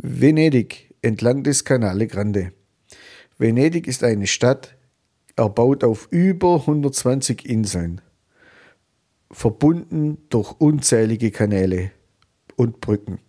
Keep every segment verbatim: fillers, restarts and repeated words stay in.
Venedig entlang des Canale Grande. Venedig ist eine Stadt, erbaut auf über hundertzwanzig Inseln, verbunden durch unzählige Kanäle und Brücken.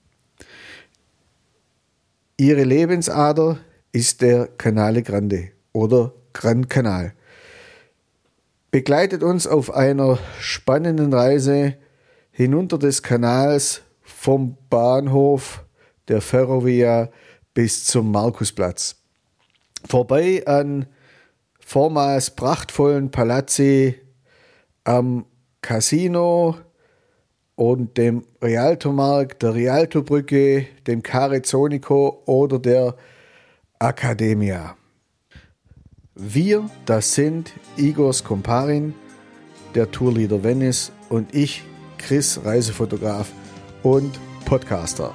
Ihre Lebensader ist der Canale Grande oder Gran Canal. Begleitet uns auf einer spannenden Reise hinunter des Kanals vom Bahnhof der Ferrovia bis zum Markusplatz. Vorbei an vormals prachtvollen Palazzi, am Casino und dem Rialtomarkt, der Rialtobrücke, dem Carezonico oder der Accademia. Wir, das sind Igor Skomparin, der Tourleader Venice, und ich, Chris, Reisefotograf und Podcaster.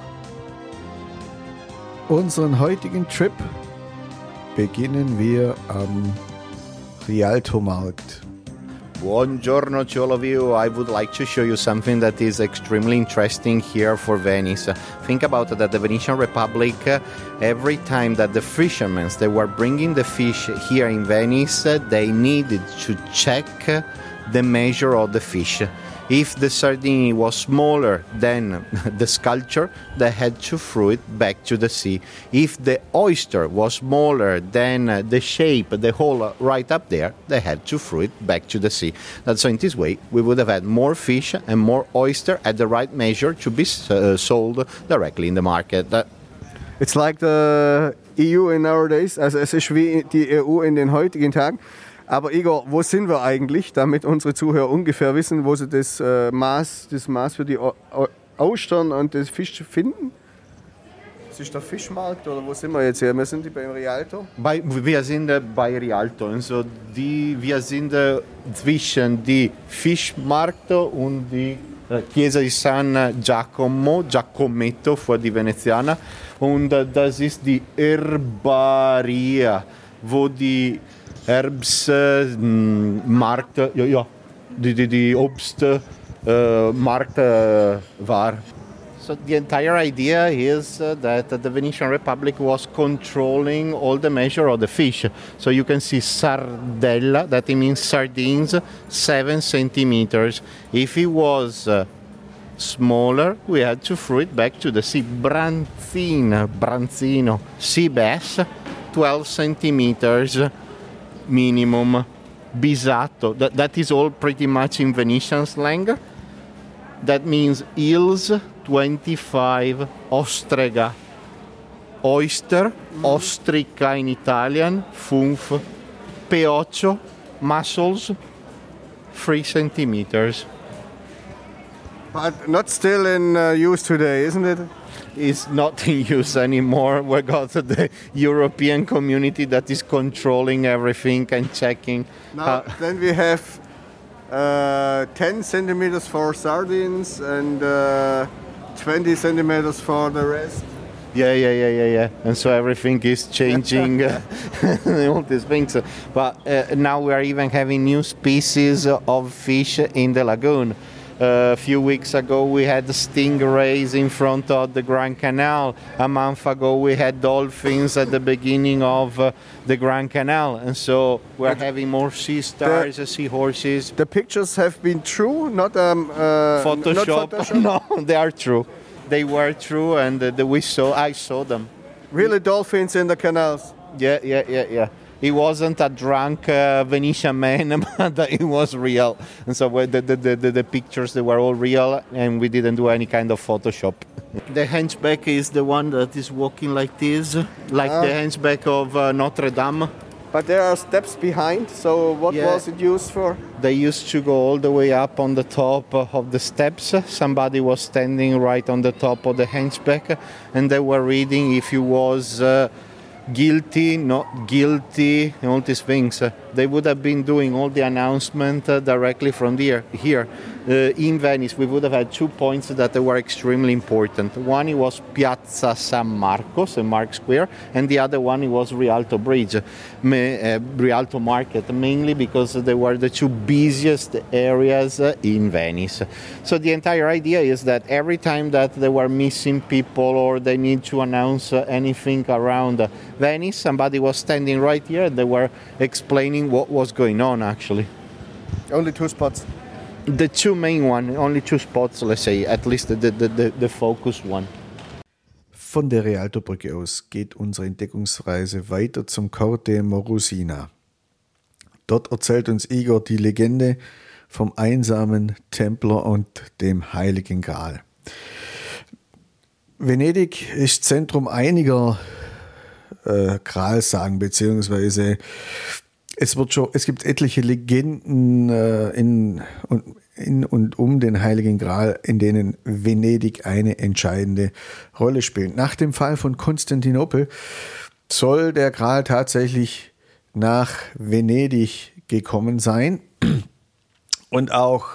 Unseren heutigen Trip beginnen wir am Rialtomarkt. Buongiorno to all of you. I would like to show you something that is extremely interesting here for Venice. Think about that the Venetian Republic, every time that the fishermen, they were bringing the fish here in Venice, they needed to check the measure of the fish. If the sardine was smaller than the sculpture, they had to throw it back to the sea. If the oyster was smaller than the shape, the hole right up there, they had to throw it back to the sea. And so in this way, we would have had more fish and more oyster at the right measure to be uh, sold directly in the market. Uh, It's like the E U in nowadays, also es ist wie die E U in den heutigen Tagen. Aber Igor, wo sind wir eigentlich, damit unsere Zuhörer ungefähr wissen, wo sie das äh, Maß, das Maß für die o- o- Austern und das Fisch finden? Das ist der Fischmarkt oder wo sind wir jetzt hier? Wir sind beim Rialto. Bei, wir sind äh, bei Rialto, also die, wir sind äh, zwischen die Fischmarkt und die äh, Chiesa di San Giacomo, Giacometto für die Venezianer, und äh, das ist die Herbaria, wo die Herbstmarkt, äh, ja, ja, die, die, die Obstmarkt äh, war. So the entire idea is uh, that the Venetian Republic was controlling all the measure of the fish. So you can see sardella, that means sardines, seven centimeters. If it was uh, smaller, we had to throw it back to the sea. Branzino, branzino, sea bass, twelve centimeters minimum. Bisatto, that, that is all pretty much in Venetian slang. That means eels, twenty-five, ostrega, oyster, ostrica in Italian, funf, peoccio, mussels, three centimeters. But not still in uh, use today, isn't it? Is not in use anymore. We got the European community that is controlling everything and checking. Now, how- then we have uh, ten centimeters for sardines and uh, twenty centimeters for the rest. Yeah, yeah, yeah, yeah, yeah. And so everything is changing, uh, all these things. But uh, now we are even having new species of fish in the lagoon. Uh, a few weeks ago we had stingrays in front of the Grand Canal. A month ago we had dolphins at the beginning of uh, the Grand Canal. And so we're having more sea stars, uh, seahorses. The pictures have been true, not um, uh, Photoshop. Not Photoshop. No, they are true. They were true, and uh, the, we saw. I saw them. Really dolphins in the canals. Yeah, yeah, yeah, yeah. He wasn't a drunk uh, Venetian man, but it was real. And so the, the, the, the pictures, they were all real, and we didn't do any kind of Photoshop. The hunchback is the one that is walking like this, like Ah. the hunchback of uh, Notre Dame. But there are steps behind, so what Yeah. was it used for? They used to go all the way up on the top of the steps. Somebody was standing right on the top of the hunchback, and they were reading if he was uh, guilty, not guilty, and all these things. Uh, they would have been doing all the announcement uh, directly from here. here. uh, in Venice, we would have had two points that were extremely important. One it was Piazza San Marco, Saint Mark Square, and the other one it was Rialto Bridge, me, uh, Rialto Market, mainly because they were the two busiest areas uh, in Venice. So the entire idea is that every time that there were missing people or they need to announce uh, anything around uh, Venice, somebody was standing right here and they were explaining what was going on actually. Only two spots. The two main one, only two spots, let's say, at least the, the, the, the focus one. Von der Rialtobrücke aus geht unsere Entdeckungsreise weiter zum Corte Morosina. Dort erzählt uns Igor die Legende vom einsamen Templer und dem Heiligen Gral. Venedig ist Zentrum einiger äh, Gralsagen, beziehungsweise es wird schon, es gibt etliche Legenden äh, in, in und um den Heiligen Gral, in denen Venedig eine entscheidende Rolle spielt. Nach dem Fall von Konstantinopel soll der Gral tatsächlich nach Venedig gekommen sein und auch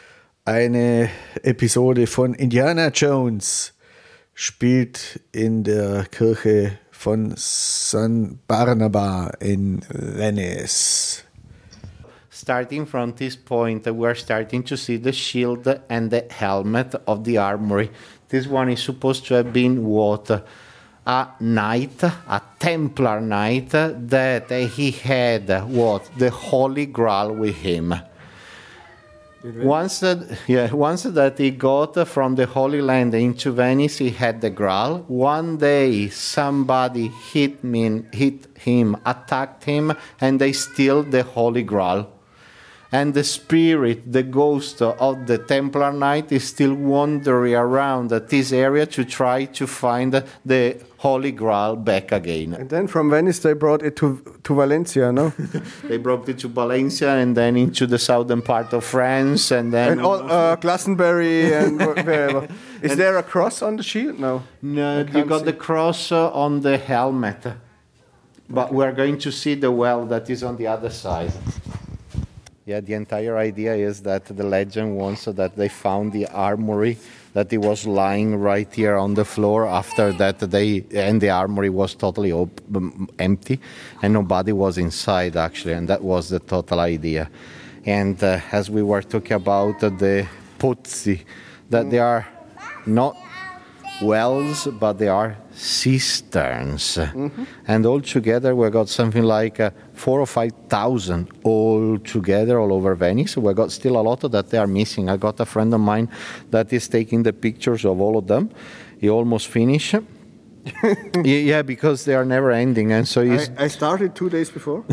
eine Episode von Indiana Jones spielt in der Kirche von San Barnaba in Venice. Starting from this point, we're starting to see the shield and the helmet of the armory. This one is supposed to have been what? A knight, a Templar knight, that he had what? The Holy Grail with him. Once that, yeah, once that he got from the Holy Land into Venice, he had the Grail. One day, somebody hit me, hit him, attacked him, and they steal the Holy Grail. And the spirit, the ghost of the Templar Knight is still wandering around this area to try to find the Holy Grail back again. And then from Venice they brought it to, to Valencia, no? They brought it to Valencia and then into the southern part of France and then... And all, uh, Glastonbury and wherever. Is and there a cross on the shield? No. No, you got see. the cross uh, on the helmet. But okay. We're going to see the well that is on the other side. Yeah, the entire idea is that the legend wants that they found the armory, that it was lying right here on the floor. After that, they and the armory was totally op- empty, and nobody was inside actually, and that was the total idea. And uh, as we were talking about uh, the pozzi, that they are not wells, but they are cisterns. Mm-hmm. And all together we got something like uh, four or five thousand all together all over Venice. We got still a lot that they are missing. I got a friend of mine that is taking the pictures of all of them. He almost finished. Yeah, because they are never ending, and so I, I started two days before.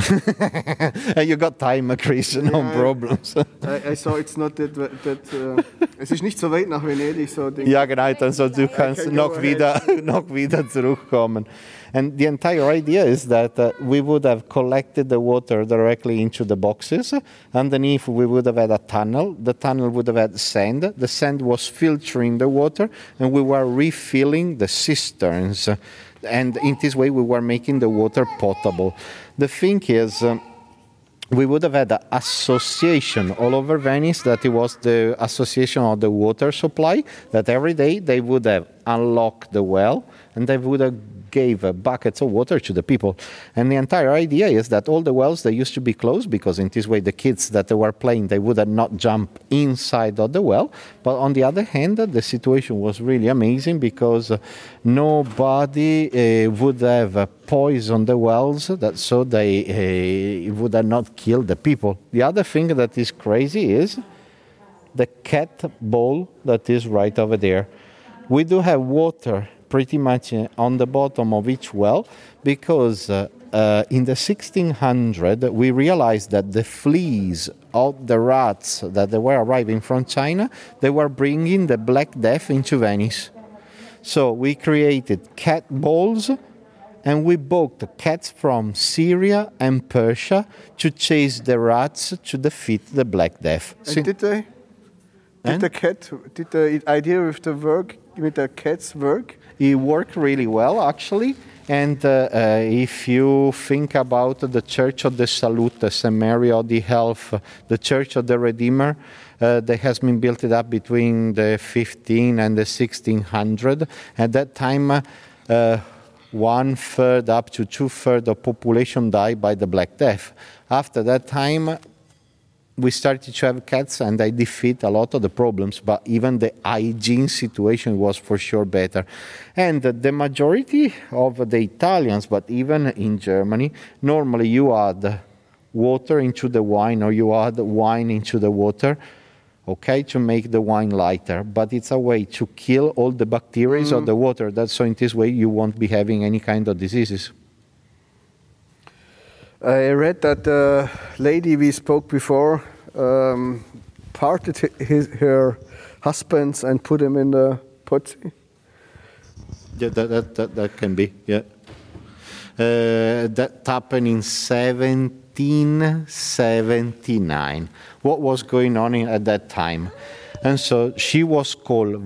You got time, Chris, no yeah, problems. I, I saw it's not that that. Uh, es ist nicht so weit nach Venedig, so. Ja, genau, dann so du kannst noch wieder, noch wieder zurückkommen. And the entire idea is that uh, we would have collected the water directly into the boxes. Underneath, we would have had a tunnel. The tunnel would have had sand. The sand was filtering the water, and we were refilling the cisterns. And in this way, we were making the water potable. The thing is, um, we would have had an association all over Venice, that it was the association of the water supply, that every day they would have unlocked the well, and they would have gave uh, buckets of water to the people. And the entire idea is that all the wells, they used to be closed, because in this way the kids that they were playing, they would have not jump inside of the well. But on the other hand, uh, the situation was really amazing, because uh, nobody uh, would have uh, poisoned the wells, that so they uh, would have not killed the people. The other thing that is crazy is the cat bowl that is right over there. We do have water pretty much on the bottom of each well, because uh, uh, in the sixteen hundreds we realized that the fleas of the rats that they were arriving from China, they were bringing the Black Death into Venice. So we created cat balls, and we booked cats from Syria and Persia to chase the rats to defeat the Black Death. And so, did they? Did and? the cat? Did the idea with the work with the cats work? It worked really well, actually. And uh, uh, if you think about the Church of the Salute, Saint Mary of the Health, the Church of the Redeemer, Uh, that has been built up between the fifteen and the sixteen hundred. At that time, uh, one third up to two thirds of population died by the Black Death. After that time, we started to have cats and they defeat a lot of the problems, but even the hygiene situation was for sure better. And uh, the majority of the Italians, but even in Germany, normally you add water into the wine or you add wine into the water, okay, to make the wine lighter, but it's a way to kill all the bacteria mm. of the water. That's so in this way you won't be having any kind of diseases. I read that the lady we spoke before um, parted his, her husbands and put him in the Pozzi. Yeah, that, that, that, that can be, yeah. Uh, that happened in seventeen seventy-nine. What was going on in, at that time? And so she was called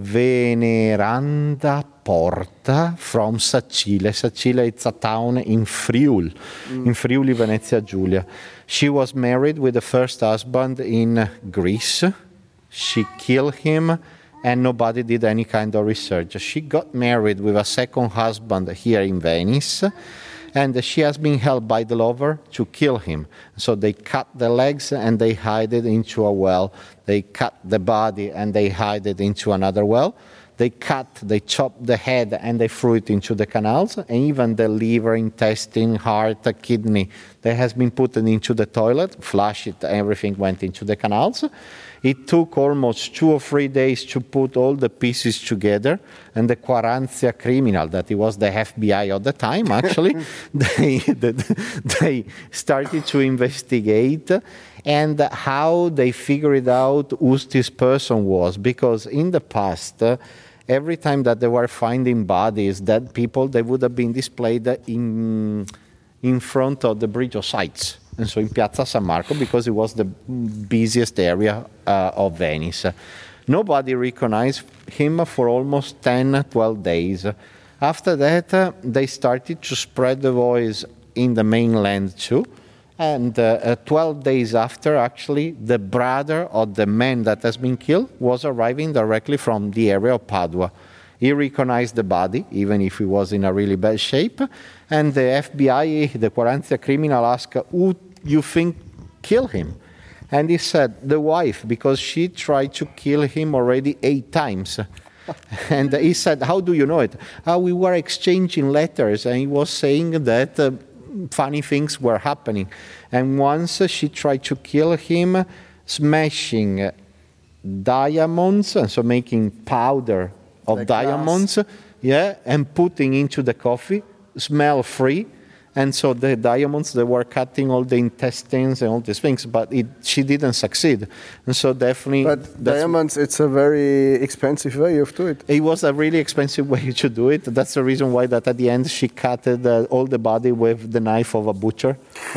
Veneranda Porta from Sacile. Sacile is a town in Friuli, mm. in Friuli, Venezia Giulia. She was married with the first husband in Greece. She killed him and nobody did any kind of research. She got married with a second husband here in Venice. And she has been held by the lover to kill him. So they cut the legs and they hide it into a well. They cut the body and they hide it into another well. They cut, they chop the head and they threw it into the canals. And even the liver, intestine, heart, kidney, that has been put into the toilet, flush it, everything went into the canals. It took almost two or three days to put all the pieces together, and the Quarantia criminal, that it was the F B I of the time, actually, they, they started to investigate and how they figured out who this person was. Because in the past, uh, every time that they were finding bodies, dead people, they would have been displayed in, in front of the Bridge of Sights. And so in Piazza San Marco, because it was the busiest area uh, of Venice. Nobody recognized him for almost ten, twelve days. After that, uh, they started to spread the voice in the mainland too. And uh, uh, twelve days after, actually, the brother of the man that has been killed was arriving directly from the area of Padua. He recognized the body, even if he was in a really bad shape. And the F B I, the Quarantia criminal, asked, who you think killed him? And he said, the wife, because she tried to kill him already eight times. And he said, how do you know it? Uh, we were exchanging letters, and he was saying that uh, funny things were happening. And once uh, she tried to kill him, smashing diamonds, and so making powder of like diamonds, glass. yeah, and putting into the coffee, smell-free. And so the diamonds, they were cutting all the intestines and all these things, but it, she didn't succeed. And so definitely... But diamonds, it's a very expensive way of doing it. It was a really expensive way to do it. That's the reason why that at the end she cut uh, all the body with the knife of a butcher.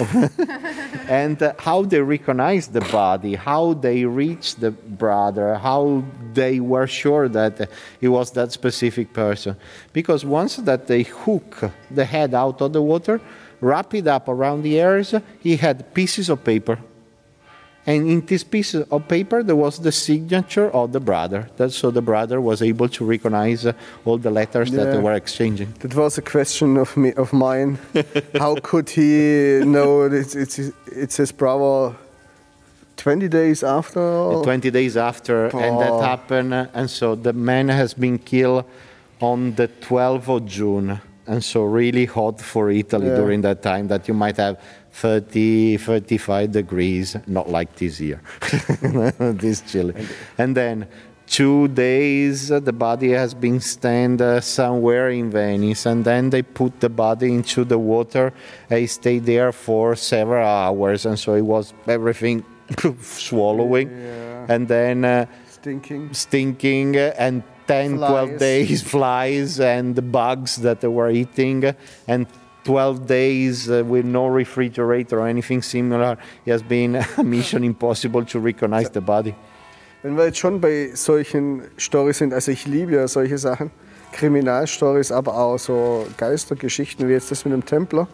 And uh, how they recognized the body, how they reached the brother, how they were sure that uh, it was that specific person. Because once that they hook the head out of the water, wrap it up around the ears, he had pieces of paper. And in these pieces of paper, there was the signature of the brother. That's so the brother was able to recognize uh, all the letters yeah. that they were exchanging. That was a question of me, of mine. How could he know it's, it's, it's his brother twenty days after? twenty days after, oh. and that happened. And so the man has been killed on the twelfth of June. And so really hot for Italy yeah. during that time, that you might have thirty, thirty-five degrees, not like this year, this chilly. And then two days, uh, the body has been stand uh, somewhere in Venice, and then they put the body into the water. He stayed there for several hours, and so it was everything swallowing, yeah. and then uh, stinking, stinking, uh, and ten, flies. twelve days, flies and the bugs that they were eating, and twelve days uh, with no refrigerator or anything similar. It has been a mission impossible to recognize the body. Wenn wir jetzt schon bei solchen Storys sind, also ich liebe ja solche Sachen, Kriminalstories, aber auch so Geistergeschichten wie jetzt das mit dem Templer.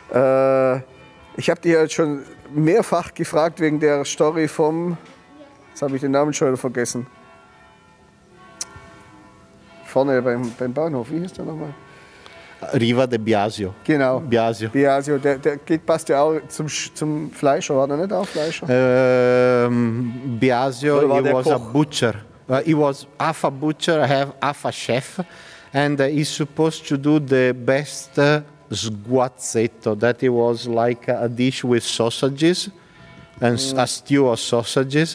Äh, ich habe dich ja schon mehrfach gefragt wegen der Story vom Jetzt habe ich den Namen schon wieder vergessen. Vorne beim, beim Bahnhof, wie hieß der nochmal? Riva de Biasio. Genau. Biasio. Biasio, der, der geht, passt ja auch zum, zum Fleischer, war der nicht auch Fleischer? Um, Biasio, Oder war he der was a Koch? butcher. Uh, he was half a butcher, half, half a chef, and uh, he's supposed to do the best uh, sguazzetto. That it was like a dish with sausages, and s- a stew of sausages.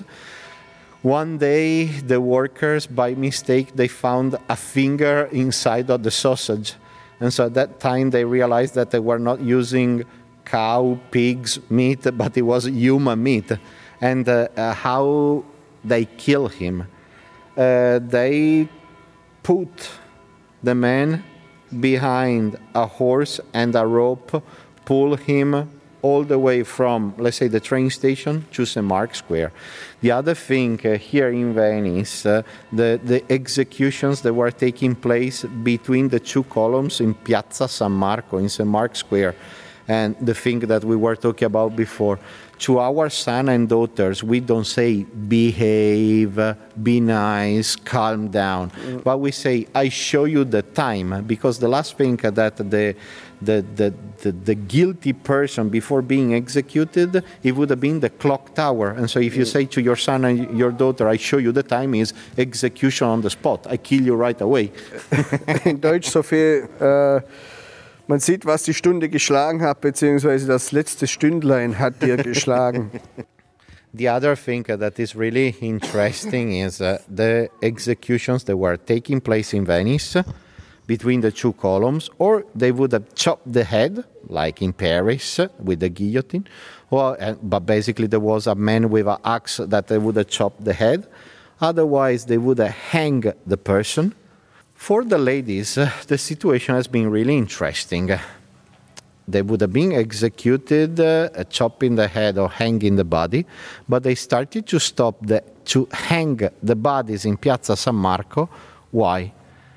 One day, the workers, by mistake, they found a finger inside of the sausage. And so at that time, they realized that they were not using cow, pigs, meat, but it was human meat. And uh, uh, how they kill him, uh, they put the man behind a horse and a rope, pull him all the way from, let's say, the train station to Saint Mark's Square. The other thing uh, here in Venice, uh, the, the executions that were taking place between the two columns in Piazza San Marco, in Saint Mark's Square, and the thing that we were talking about before. To our son and daughters, we don't say behave, be nice, calm down, mm. but we say, I show you the time, because the last thing that the The, the, the, the guilty person before being executed, it would have been the clock tower. And so if you say to your son and your daughter, I show you the time, is execution on the spot. I kill you right away. In Deutsch so viel, äh, man sieht, was die Stunde geschlagen hat, beziehungsweise das letzte Stündlein hat dir geschlagen. The other thing that is really interesting is uh, the executions that were taking place in Venice between the two columns, or they would have chopped the head, like in Paris with the guillotine, or, uh, but basically there was a man with an axe that they would have chopped the head. Otherwise, they would have hanged the person. For the ladies, uh, the situation has been really interesting. They would have been executed, uh, chopping the head or hanging the body, but they started to stop the, to hang the bodies in Piazza San Marco. Why?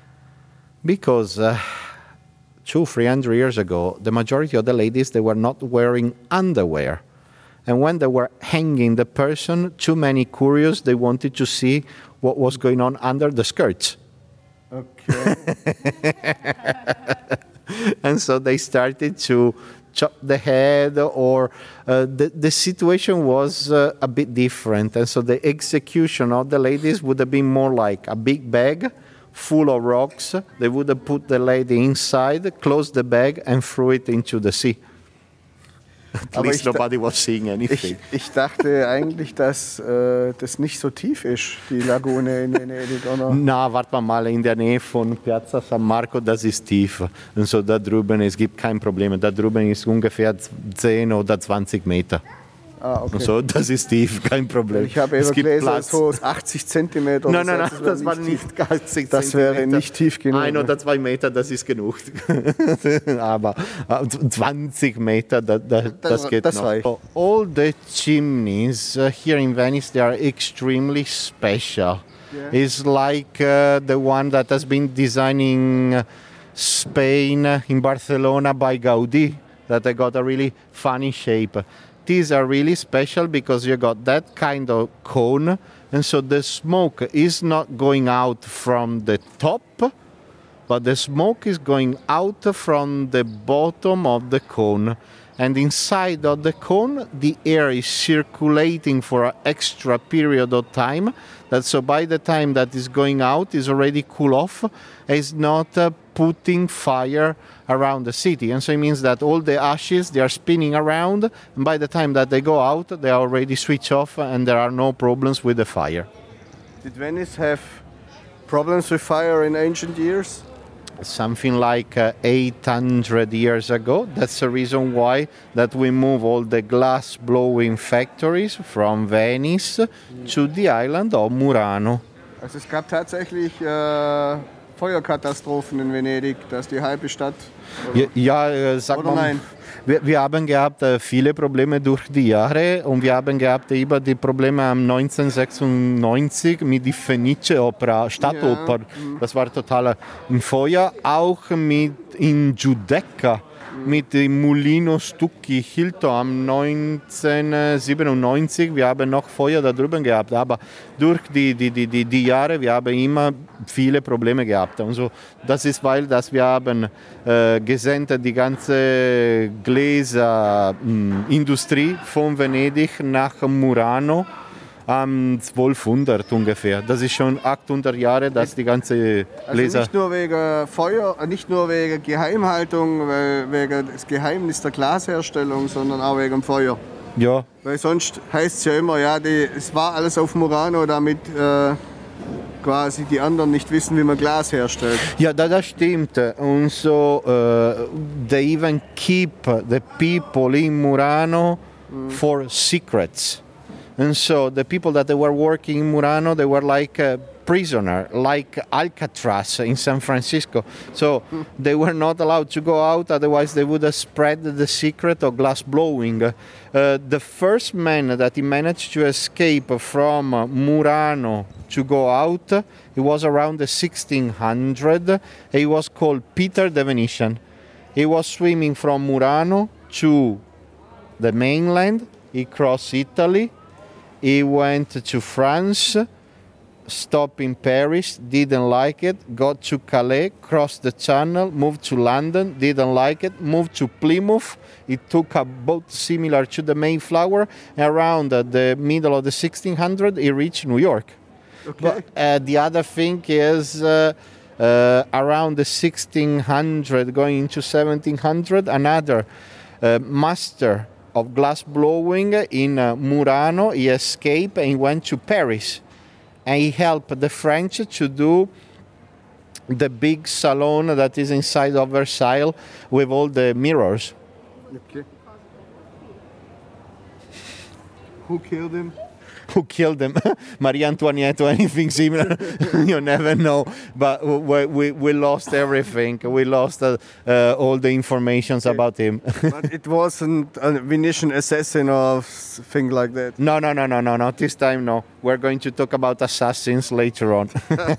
Because uh, two, three hundred years ago, the majority of the ladies, they were not wearing underwear. And when they were hanging the person, too many curious, they wanted to see what was going on under the skirts. Okay. And so they started to chop the head, or uh, the, the situation was uh, a bit different. And so the execution of the ladies would have been more like a big bag full of rocks. They would have put the lady inside, closed the bag, and threw it into the sea. At Aber least ich, nobody was seeing anything. Ich, ich dachte eigentlich, dass äh, das nicht so tief ist, die Lagune in Venedig, oder? Na, warte mal, mal, in der Nähe von Piazza San Marco, das ist tief. Und so da drüben, es gibt kein Problem. Da drüben ist ungefähr zehn oder zwanzig Meter. Ah, okay. Und so, das ist tief, kein Problem. Ich habe es eben gibt gelesen, Platz. so achtzig Zentimeter. Nein, nein, nein, das, das war nicht achtzig Das wäre nicht tief genug. Ein oder zwei Meter, das ist genug. Aber zwanzig Meter, das, das, das geht das noch. reicht. All the chimneys uh, here in Venice, they are extremely special. Yeah. It's like uh, the one that has been designing Spain in Barcelona by Gaudí, that they got a really funny shape. These are really special because you got that kind of cone, and so the smoke is not going out from the top, but the smoke is going out from the bottom of the cone. And inside of the cone, the air is circulating for an extra period of time. That so by the time that is going out, is already cool off. It's not uh, putting fire around the city. And so it means that all the ashes, they are spinning around. And by the time that they go out, they are already switched off and there are no problems with the fire. Did Venice have problems with fire in ancient years? Something like uh, eight hundred years ago. That's the reason why that we move all the glass blowing factories from Venice to the island of Murano. Also es gab tatsächlich äh, Feuerkatastrophen in Venedig, dass die halbe Stadt... Ja, ja äh, sag oder mal, nein? Wir, wir haben gehabt äh, viele Probleme durch die Jahre und wir haben gehabt über die Probleme am neunzehnhundertsechsundneunzig mit der Fenice-Opera, Stadtoper. Ja. Das war total ein Feuer. Auch mit in Giudecca mit dem Mulino Stucchi Hilto am neunzehnhundertsiebenundneunzig. Wir haben noch Feuer da drüben gehabt, aber durch die, die, die, die, die Jahre, wir haben immer viele Probleme gehabt. Und so, das ist, weil dass wir haben äh, gesendet die ganze Gläserindustrie von Venedig nach Murano. Um zwölfhundert ungefähr. Das ist schon achthundert Jahre, dass die ganze Gläser... Also nicht nur wegen Feuer, nicht nur wegen Geheimhaltung, wegen das Geheimnis der Glasherstellung, sondern auch wegen Feuer. Ja. Weil sonst heißt es ja immer, ja, die, es war alles auf Murano, damit äh, quasi die anderen nicht wissen, wie man Glas herstellt. Ja, das, das stimmt. Und so, uh, they even keep the people in Murano mm. for secrets. And so the people that they were working in Murano, they were like a prisoner, like Alcatraz in San Francisco. So they were not allowed to go out, otherwise they would have spread the secret of glass blowing. Uh, the first man that he managed to escape from Murano to go out, he was around the sixteen hundred. He was called Peter the Venetian. He was swimming from Murano to the mainland. He crossed Italy. He went to France, stopped in Paris, didn't like it, got to Calais, crossed the channel, moved to London, didn't like it, moved to Plymouth. It took a boat similar to the Mayflower. Around the middle of the sixteen hundreds, he reached New York. Okay. But uh, the other thing is uh, uh, around the sixteen hundred, going into seventeen hundred, another uh, master of glass blowing in uh, Murano, he escaped and he went to Paris. And he helped the French to do the big salon that is inside of Versailles with all the mirrors. Okay. Who killed him? Who killed him? Marie Antoinette or anything similar? You never know. But we, we, we lost everything. We lost uh, uh, all the informations okay. about him. But it wasn't a Venetian assassin or thing like that? No, no, no, no, no, not this time, no. We're going to talk about assassins later on.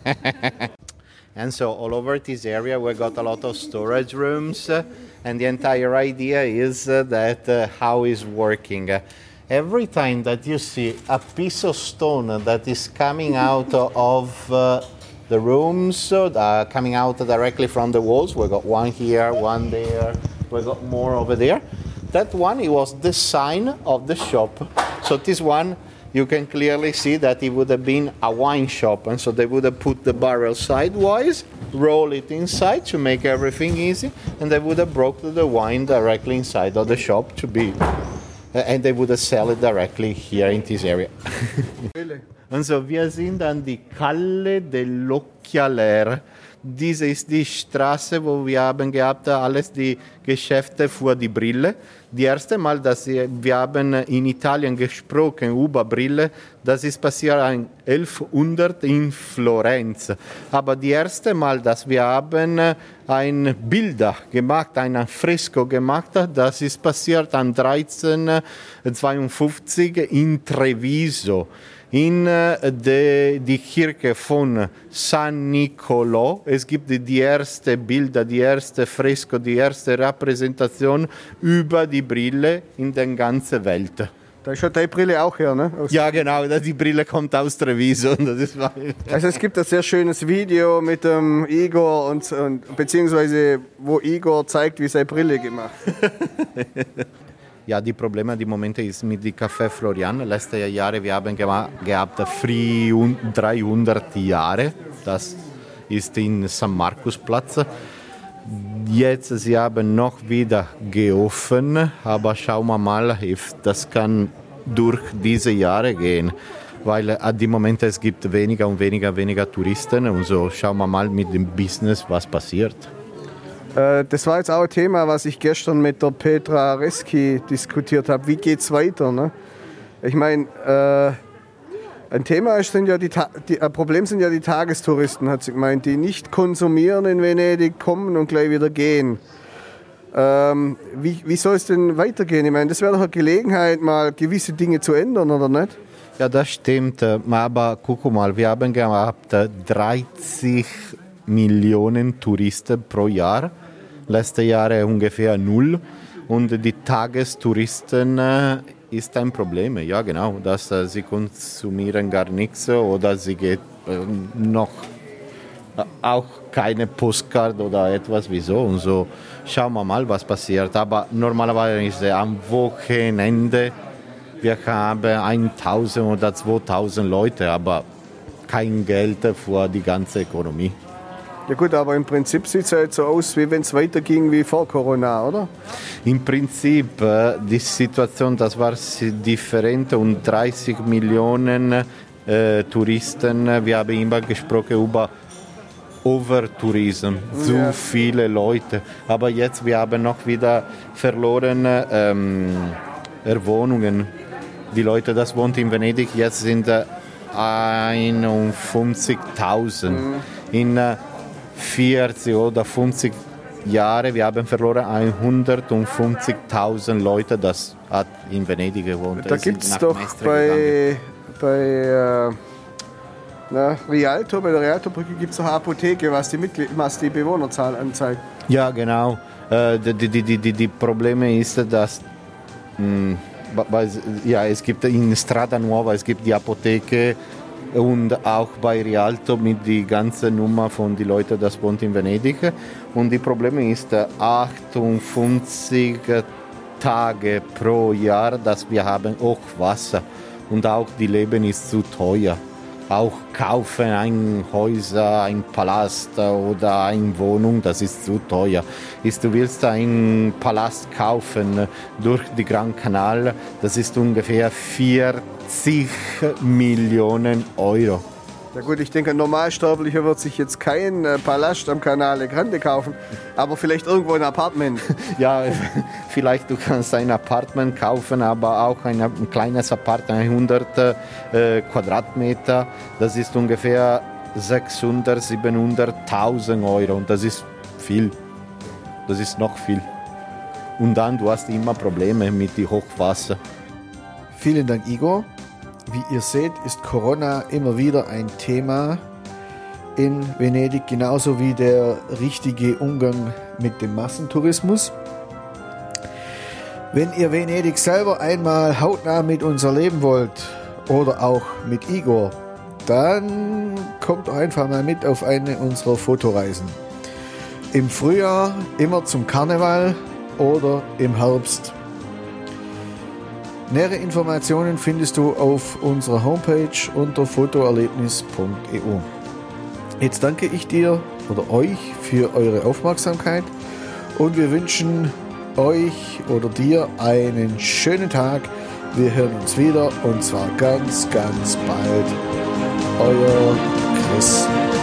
And so all over this area we got a lot of storage rooms. Uh, and the entire idea is uh, that uh, how is working. Uh, Every time that you see a piece of stone that is coming out of uh, the rooms, uh, coming out directly from the walls, we got one here, one there, we got more over there. That one, it was the sign of the shop. So this one, you can clearly see that it would have been a wine shop. And so they would have put the barrel sidewise, roll it inside to make everything easy, and they would have broke the wine directly inside of the shop to be... And they would sell it directly here in this area. Really? Und so, wir sind an die Calle dell'Occhialer. Diese ist die Straße, wo wir haben gehabt, alles die Geschäfte für die Brille. Die erste Mal, dass wir haben in Italien gesprochen über Brille, das ist passiert in elfhundert in Florenz. Aber die erste Mal, dass wir haben ein Bilder gemacht, ein Fresko gemacht, das ist passiert an dreizehnhundertzweiundfünfzig in Treviso. In de, die Kirche von San Niccolò. Es gibt die erste Bilder, die erste Fresko, die erste Repräsentation über die Brille in der ganzen Welt. Da ist ja die Brille auch her, ne? Aus ja, genau, die Brille kommt aus Treviso. Das ist also es gibt ein sehr schönes Video mit dem Igor, und, und, beziehungsweise wo Igor zeigt, wie seine Brille gemacht wird. Ja, die Probleme die Momente ist mit dem Café Florian. Letzte Jahre wir haben gehabt dreihundert Jahre. Das ist in San Markusplatz. Jetzt sie haben noch wieder geöffnet, aber schauen wir mal, if das kann durch diese Jahre gehen, weil an dem Moment es gibt weniger und weniger weniger Touristen und so schauen wir mal mit dem Business, was passiert. Das war jetzt auch ein Thema, was ich gestern mit der Petra Reski diskutiert habe. Wie geht es weiter? Ne? Ich meine, äh, ein Thema ist, sind ja die, die, ein Problem sind ja die Tagestouristen, hat sie gemeint, die nicht konsumieren in Venedig, kommen und gleich wieder gehen. Ähm, wie, wie soll es denn weitergehen? Ich meine, das wäre doch eine Gelegenheit, mal gewisse Dinge zu ändern, oder nicht? Ja, das stimmt. Aber guck mal, wir haben gehabt dreißig Millionen Touristen pro Jahr. letzten Jahre ungefähr null. Und die Tagestouristen äh, ist ein Problem. Ja, genau. Dass, äh, sie konsumieren gar nichts oder sie geht äh, noch äh, auch keine Postkarte oder etwas wie so. Und so schauen wir mal, was passiert. Aber normalerweise ist es am Wochenende, wir haben tausend oder zweitausend Leute, aber kein Geld für die ganze Ökonomie. Ja gut, aber im Prinzip sieht es ja jetzt so aus, wie wenn es weiterging wie vor Corona, oder? Im Prinzip, äh, die Situation, das war different und dreißig Millionen äh, Touristen, wir haben immer gesprochen über Overtourism, zu ja. viele Leute. Aber jetzt, wir haben noch wieder verloren ähm, Wohnungen. Die Leute, das wohnt in Venedig, jetzt sind äh, einundfünfzigtausend. Mhm. In äh, vierzig oder fünfzig Jahren, wir haben verloren hundertfünfzigtausend Leute, das hat in Venedig gewohnt. Da gibt es doch bei, bei äh, na, Rialto, bei der Rialto-Brücke gibt es eine Apotheke, was die, Mitglied, was die Bewohnerzahl anzeigt. Ja, genau. Äh, die, die, die, die, die Probleme ist, dass mh, ja, es gibt in Strada Nuova, es gibt die Apotheke und auch bei Rialto mit die ganze Nummer von den Leuten, das wohnt in Venedig. Und die Probleme ist achtundfünfzig Tage pro Jahr, dass wir haben Hochwasser und auch die Leben ist zu teuer. Auch kaufen ein Häuser, ein Palast oder eine Wohnung, das ist zu teuer. Ist, du willst einen Palast kaufen durch den Gran Canal, das ist ungefähr vierzig Millionen Euro. Ja gut, ich denke, ein Normalsterblicher wird sich jetzt kein äh, Palast am Canale Grande kaufen, aber vielleicht irgendwo ein Apartment. Ja, vielleicht du kannst ein Apartment kaufen, aber auch ein, ein kleines Apartment, hundert äh, Quadratmeter, das ist ungefähr sechshundert, siebenhunderttausend Euro und das ist viel, das ist noch viel. Und dann, du hast immer Probleme mit dem Hochwasser. Vielen Dank, Igor. Wie ihr seht, ist Corona immer wieder ein Thema in Venedig, genauso wie der richtige Umgang mit dem Massentourismus. Wenn ihr Venedig selber einmal hautnah mit uns erleben wollt oder auch mit Igor, dann kommt doch einfach mal mit auf eine unserer Fotoreisen. Im Frühjahr immer zum Karneval oder im Herbst. Nähere Informationen findest du auf unserer Homepage unter fotoerlebnis punkt e u. Jetzt danke ich dir oder euch für eure Aufmerksamkeit und wir wünschen euch oder dir einen schönen Tag. Wir hören uns wieder und zwar ganz, ganz bald. Euer Chris.